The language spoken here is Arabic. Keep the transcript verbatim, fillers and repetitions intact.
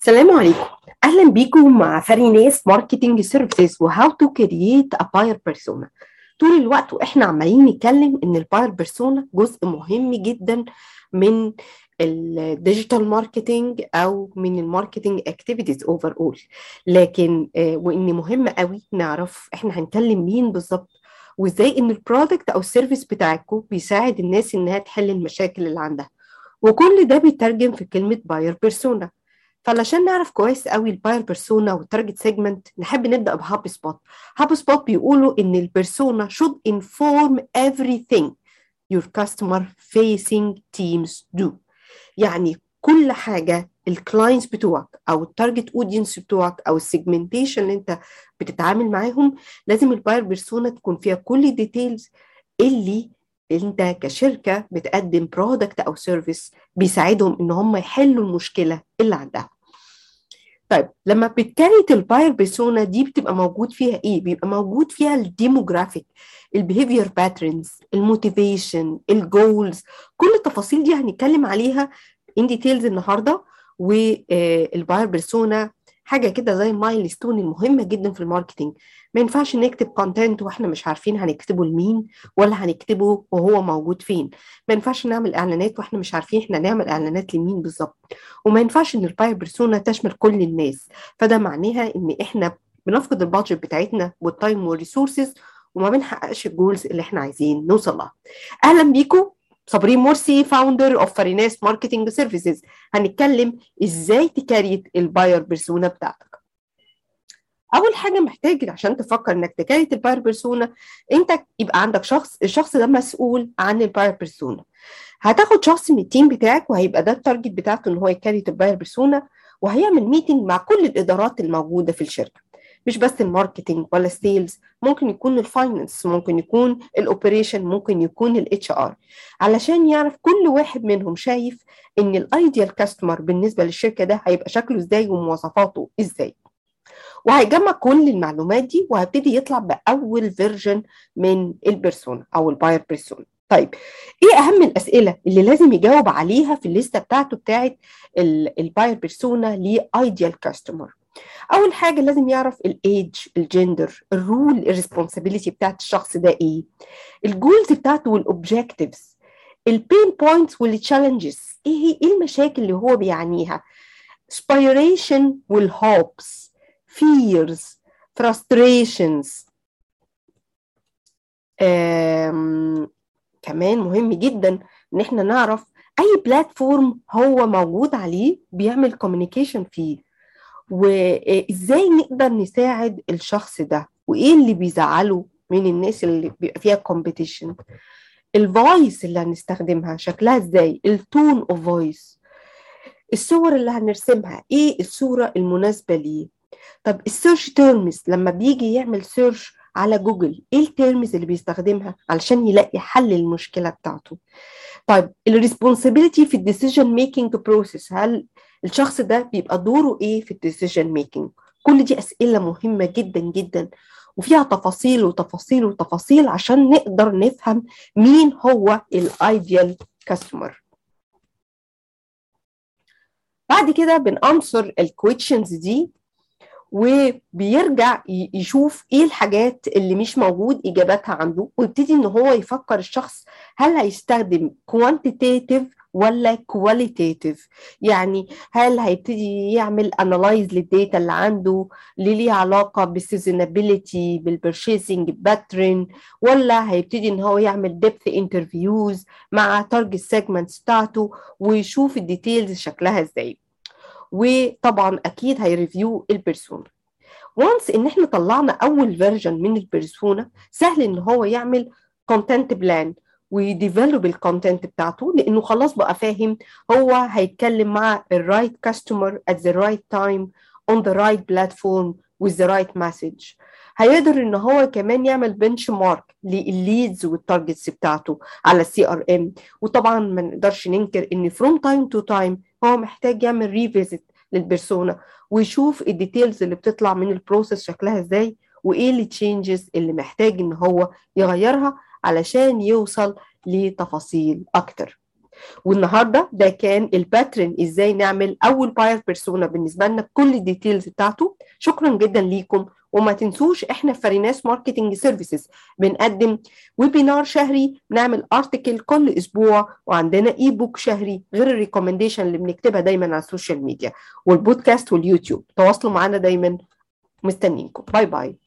السلام عليكم. اهلا بيكم مع فريناس ماركتنج سيرفيسز وهاو تو كرييت ا باير بيرسونا. طول الوقت واحنا عمالين نتكلم ان الباير بيرسونا جزء مهم جدا من الديجيتال ماركتنج او من الماركتنج اكتيفيتيز اوفر اول، لكن آه وان مهم قوي نعرف احنا هنكلم مين بالظبط، وازاي ان البرودكت او السيرفيس بتاعكم بيساعد الناس انها تحل المشاكل اللي عندها، وكل ده بيترجم في كلمة باير بيرسونا. فعلشان نعرف كويس قوي الباير بيرسونا والتارجت سيجمنت نحب نبدا بهاب سبوت. هاب سبوت بيقولوا ان البيرسونا should inform everything your customer facing teams do. يعني كل حاجه الكلاينتس بتوعك او التارجت اودينس بتوعك او السيجمنتيشن اللي انت بتتعامل معاهم لازم الباير بيرسونا تكون فيها كل الديتيلز اللي انت كشركه بتقدم برودكت او سيرفيس بيساعدهم ان هم يحلوا المشكله اللي عندها. طيب لما بتكريت الباير بيرسونا دي بتبقى موجود فيها ايه؟ بيبقى موجود فيها الديموغرافيك، البيهيفير باترنز، الموتيفيشن، الجولز، كل التفاصيل دي هنتكلم عليها ان ديتيلز النهارده. والباير بيرسونا حاجه كده زي المايل ستون المهمه جدا في الماركتنج. ما ينفعش نكتب كونتنت واحنا مش عارفين هنكتبه لمين ولا هنكتبه وهو موجود فين. ما ينفعش نعمل اعلانات واحنا مش عارفين احنا نعمل اعلانات لمين بالظبط. وما ينفعش ان الباير بيرسونا تشمل كل الناس، فده معناها ان احنا بنفقد البادجت بتاعتنا والتايم والريسورسز وما بنحققش الجولز اللي احنا عايزين نوصل لها. اهلا بيكم، صابرين مرسي فاوندر اوف فريناس ماركتنج سيرفيسز. هنتكلم ازاي تكريت الباير بيرسونا بتاعتك. اول حاجه محتاج عشان تفكر انك تكريت الباير بيرسونا انت يبقى عندك شخص، الشخص ده مسؤول عن الباير بيرسونا. هتاخد شخص من التيم بتاعك وهيبقى ده التارجت بتاعته ان هو يكريت الباير بيرسونا، وهيعمل ميتنج مع كل الادارات الموجوده في الشركه، مش بس الماركتنج ولا السيلز، ممكن يكون الفاينانس، ممكن يكون الاوبريشن، ممكن يكون الاتش ار، علشان يعرف كل واحد منهم شايف ان الايديال كاستمر بالنسبه للشركه ده هيبقى شكله ازاي ومواصفاته ازاي. وهيجمع كل المعلومات دي وهبتدي يطلع باول فيرجن من البيرسونا او الباير بيرسونا. طيب ايه اهم الاسئله اللي لازم يجاوب عليها في الليسته بتاعته بتاعت الباير بيرسونا لايديال كاستمر؟ اول حاجه لازم يعرف الايدج، الجندر، الرول، الريسبونسابيلتي بتاعت الشخص ده ايه، الجولز بتاعته والاوبجكتيفز، البين بوينتس والتشالنجز، ايه ايه المشاكل اللي هو بيعانيها، aspiration والهوبس، fears، frustrations. كمان مهم جدا ان احنا نعرف اي بلاتفورم هو موجود عليه بيعمل كوميونيكيشن فيه، وازاي نقدر نساعد الشخص ده، وايه اللي بيزعله من الناس اللي بيبقى فيها كومبيتيشن، الفويس اللي هنستخدمها شكلها ازاي، التون اوف فويس، الصور اللي هنرسمها ايه الصورة المناسبة ليه. طب السيرش تيرمز لما بيجي يعمل سيرش على جوجل ايه التيرمز اللي بيستخدمها علشان يلاقي حل المشكلة بتاعته. طيب الريسبونسابيلتي في الديسيجن ميكينج بروسيس، هل الشخص ده بيبقى دوره ايه في الديسيجن ميكينج؟ كل دي اسئلة مهمة جدا جدا وفيها تفاصيل وتفاصيل وتفاصيل عشان نقدر نفهم مين هو الايديال كاستمر. بعد كده بنأنسر الكويشنز دي وبيرجع يشوف ايه الحاجات اللي مش موجود اجاباتها عنده، ويبتدي ان هو يفكر الشخص هل هيستخدم quantitative ولا qualitative. يعني هل هيبتدي يعمل analyze للديتا اللي عنده اللي ليها علاقة بالسيزونابيلتي بالبرشيسنج باترن، ولا هيبتدي ان هو يعمل depth interviews مع target segments بتاعته ويشوف الديتيلز شكلها ازاي. وطبعا اكيد هيريفيو البيرسونا. وانس ان احنا طلعنا اول فيرجن من البيرسونا سهل ان هو يعمل كونتنت بلان ويديفلوب الكونتنت بتاعته، لانه خلاص بقى فاهم هو هيتكلم مع الرايت كاستمر at the right time on the right platform with the right message. هيقدر ان هو كمان يعمل بنش مارك للليدز والتارجتس بتاعته على السي ار ام. وطبعا ما نقدرش ننكر ان from time to time هو محتاج يعمل ريفيزيت للبيرسونا ويشوف الديتيلز اللي بتطلع من البروسيس شكلها ازاي، وايه التشينجز اللي محتاج ان هو يغيرها علشان يوصل لتفاصيل اكتر. والنهارده ده كان الباترن ازاي نعمل اول باير بيرسونا بالنسبه لنا بكل الديتيلز بتاعته. شكرا جدا ليكم، وما تنسوش احنا في فريناس ماركتنج سيرفيسز بنقدم ويبينار شهري، بنعمل ارتكل كل اسبوع، وعندنا اي بوك شهري غير الريكومنديشن اللي بنكتبها دايما على السوشيال ميديا والبودكاست واليوتيوب. تواصلوا معنا دايما، مستنينكم. باي باي.